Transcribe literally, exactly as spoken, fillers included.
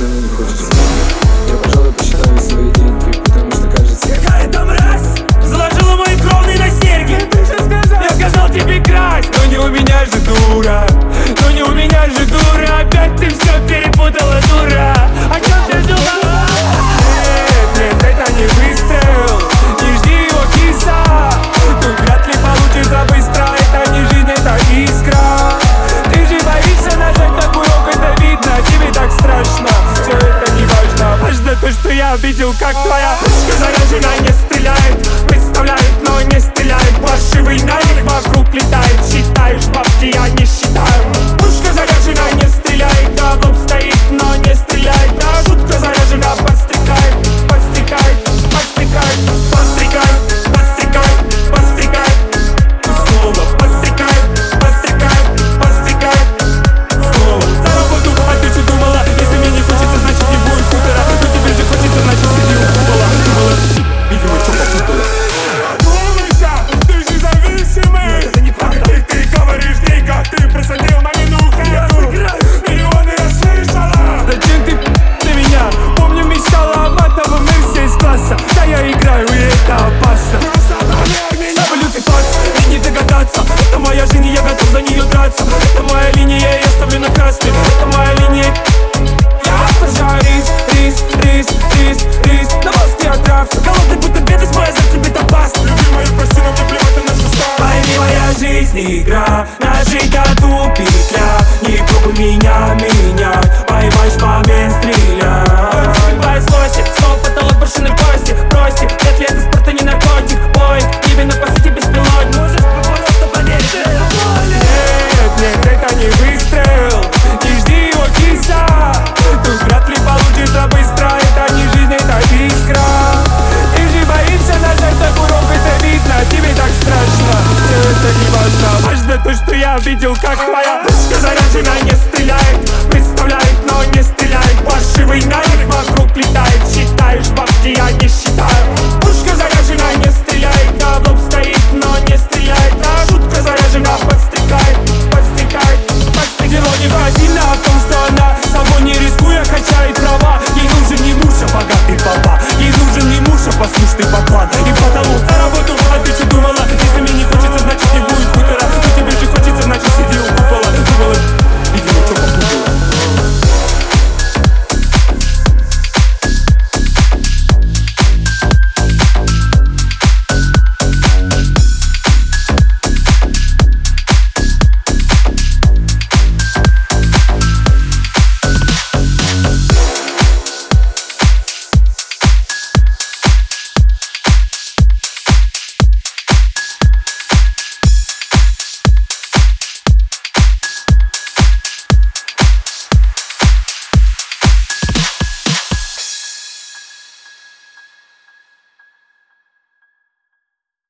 цены не хочется. Я, пожалуй, посчитаю свои деньги, потому что кажется, какая-то мразь заложила мои кровные на серьги. Ты же сказал, я сказал тебе красть. Но не у меня же дура, но не у меня же дура. Опять ты все перепутала, дура. О чем ты думала? Нет, нет, это не выстрел, не жди его, киса. Тут вряд ли получится быстро, это не жизнь, это искра. Ты же боишься нажать на курок, это видно, тебе так страшно. Все это не важно, важно то, что я видел, как твоя